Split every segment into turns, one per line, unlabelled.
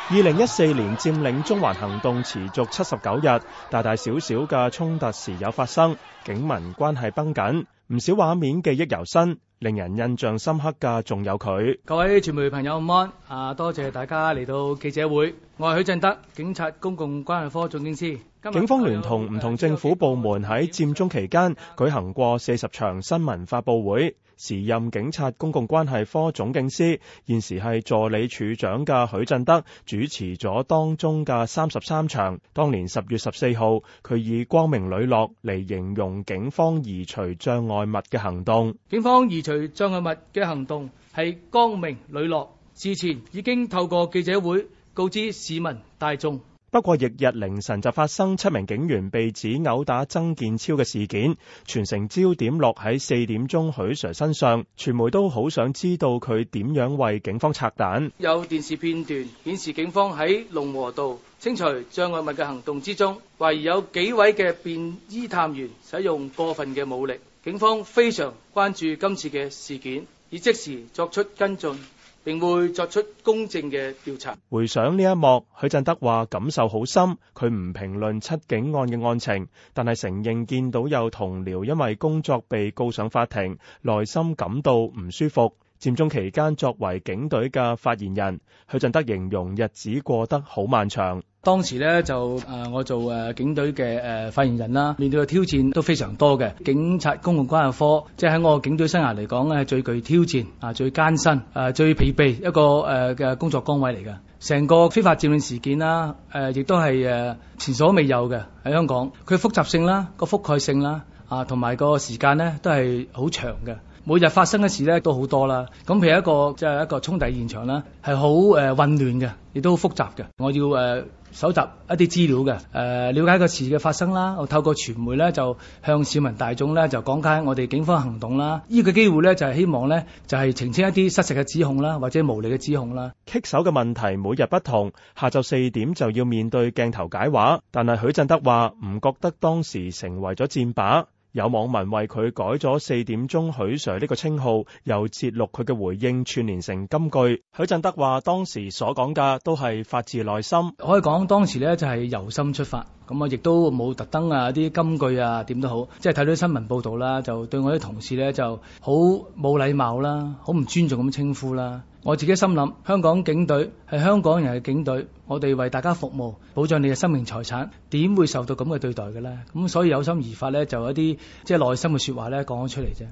2014年佔領中環行動持續79日，大大小小嘅衝突時有發生，警民關係繃緊，唔少畫面記憶猶新，令人印象深刻嘅仲有佢。
各位傳媒朋友午安，多謝大家嚟到記者會，我係許振德，警察公共關係科總警司。
警方聯同唔同政府部門喺佔中期間舉行過40場新聞發佈會。時任警察公共關係科總警司，現時係助理處長嘅許振德主持咗當中嘅33場。當年10月14號，佢以光明磊落嚟形容警方移除障礙物嘅行動。
警方移除障礙物嘅行動係光明磊落，事前已經透過記者會告知市民大眾。
不過，翌日凌晨就發生7名警員被指毆打曾健超嘅事件，全城焦點落喺4點鐘許 Sir 身上，傳媒都好想知道佢點樣為警方拆彈。
有電視片段顯示警方喺龍和道清除障礙物嘅行動之中，懷疑有幾位嘅便衣探員使用過分嘅武力，警方非常關注今次嘅事件，已即時作出跟進，並會作出公正嘅調查。
回想呢一幕，許振德話感受好深。佢唔評論7警案嘅案情，但係承認見到有同僚因為工作被告上法庭，內心感到唔舒服。佔中期間，作為警隊嘅發言人，許振德形容日子過得好漫長。
當時呢，我做警隊嘅發言人啦，面對嘅挑戰都非常多嘅。警察公共關係科即係喺我警隊生涯嚟講咧，係最具挑戰最艱辛最疲憊一個嘅工作崗位嚟嘅。成個非法佔領事件啦，亦都係前所未有嘅喺香港。佢複雜性啦，個覆蓋性啦，同埋個時間呢都係好長嘅。每日發生嘅事咧都好多啦，咁譬如一個衝突現場啦，係好混亂嘅，亦都好複雜嘅。我要搜集一啲資料嘅，了解個事嘅發生啦。我透過傳媒咧就向市民大眾咧就講解我哋警方行動啦。呢個機會咧就係希望咧就係澄清一啲失實嘅指控啦，或者無理嘅指控啦。
棘手嘅問題每日不同，下晝4點就要面對鏡頭解話，但係許振德話唔覺得當時成為咗箭靶。有網民為佢改咗4點鐘許 Sir 呢個稱號，又節錄佢嘅回應串連成金句。許振德話當時所講嘅都係發自內心，
可以講當時咧就係由心出發，咁亦都冇特登啲金句點都好，即係睇到新聞報道啦，就對我啲同事咧就好冇禮貌啦，好唔尊重咁稱呼啦。我自己心諗，香港警隊係香港人嘅警隊，我哋為大家服務，保障你嘅生命財產，點會受到咁嘅對待嘅咧？咁所以有心而發咧，就有一啲即係內心嘅說話咧講咗出嚟啫。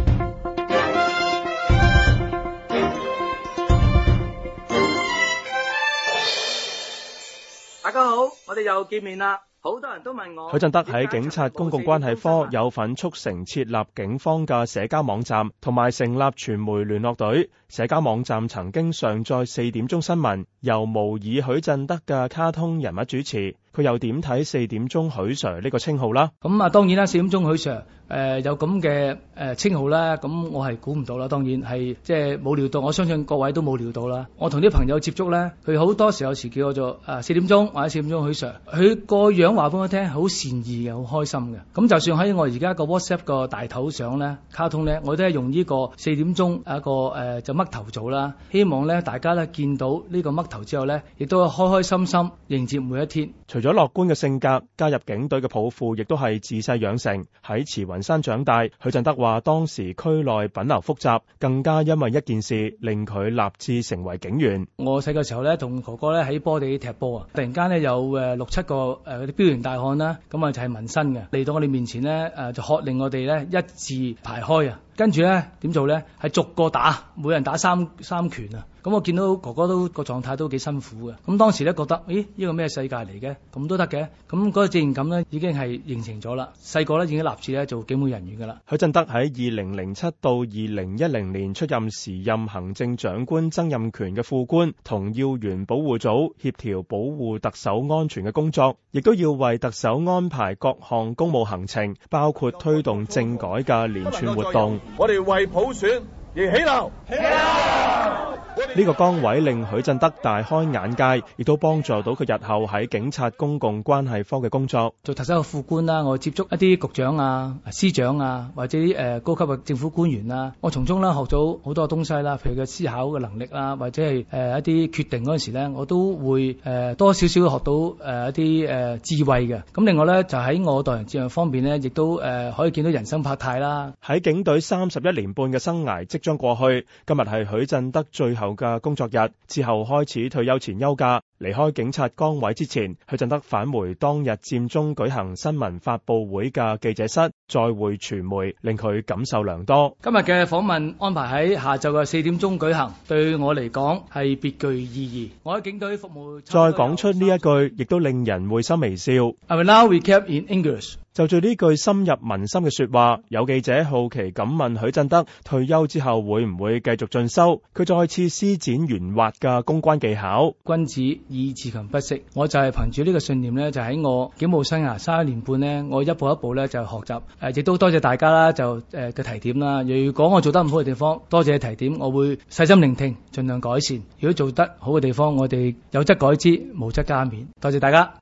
大家好，我哋又見面啦。好多人都問我，
許振德喺警察公共關係科有份促成設立警方嘅社交網站，同埋成立傳媒聯絡隊。社交網站曾經上載4點鐘新聞，由模擬許振德嘅卡通人物主持。佢又點睇4點鐘許 Sir 呢個稱號啦？
咁當然啦，4點鐘許 Sir 有咁嘅稱號啦，咁我係估唔到啦。當然係即係冇料到，我相信各位都冇料到啦。我同啲朋友接觸咧，佢好多時有時叫我做4點鐘或者4點鐘許 Sir，佢個樣話俾我聽好善意嘅，好開心嘅。咁就算喺我而家個 WhatsApp 個大頭相咧，卡通咧，我都係用呢個4點鐘一個就嘜頭做啦。希望咧大家咧見到呢個嘜頭之後咧，亦都開開心心迎接每一天。
除咗樂觀嘅性格，加入警隊嘅抱負亦都係自細養成。喺慈雲山長大，許振德話當時區內品流複雜，更加因為一件事令佢立志成為警員。我
細個時候咧，同哥哥咧喺波地踢波啊，突然間咧有6、7個嗰啲彪形大漢啦，咁就係紋身嘅嚟到我哋面前咧，就喝令我哋咧一字排開啊。跟住咧點做咧？係逐個打，每人打三拳啊！咁我見到哥哥都個狀態都幾辛苦嘅。咁當時咧覺得，咦，呢個咩世界嚟嘅？咁都得嘅。咁嗰個自然感咧已經係形成咗啦。細個咧已經立志咧做警務人員噶啦。
許振德喺2007到2010年出任時任行政長官曾蔭權嘅副官，同要員保護組協調保護特首安全嘅工作，亦都要為特首安排各項公務行程，包括推動政改嘅連串活動。
我哋為普選而起錨！起錨！
呢個崗位令許振德大開眼界，亦都幫助到佢日後喺警察公共關係科嘅工作。
做特首嘅副官啦，我接觸一啲局長啊、司長啊，或者啲高級嘅政府官員啊，我從中啦學到好多東西啦，譬如嘅思考嘅能力啦，或者係一啲決定嗰陣時咧，我都會多少少學到一啲智慧嘅。咁另外咧就喺我待人接物方面咧，亦都可以見到人生百態啦。
喺警隊31年半嘅生涯即將過去，今日係許振德最後嘅工作日，之後開始退休前休假。離開警察崗位之前，許振德返回當日佔中舉行新聞發佈會嘅記者室，再會傳媒，令佢感受良多。
今日嘅訪問安排喺下晝嘅4點鐘舉行，對我嚟講係別具意義。我喺警隊服務。
再講出呢一句，亦都令人會心微笑。
I will now recap in English。
就住呢句深入民心嘅說話，有記者好奇咁問許振德退休之後會唔會繼續進修？佢再次施展圓滑嘅公關技巧。
君子以自強不息，我就係憑住呢個信念咧，就喺我警務生涯31年半咧，我一步一步咧就學習。亦都多謝大家啦，就嘅提點啦。如果我做得唔好嘅地方，多謝提點，我會細心聆聽，盡量改善。如果做得好嘅地方，我哋有則改之，無則加勉。多謝大家。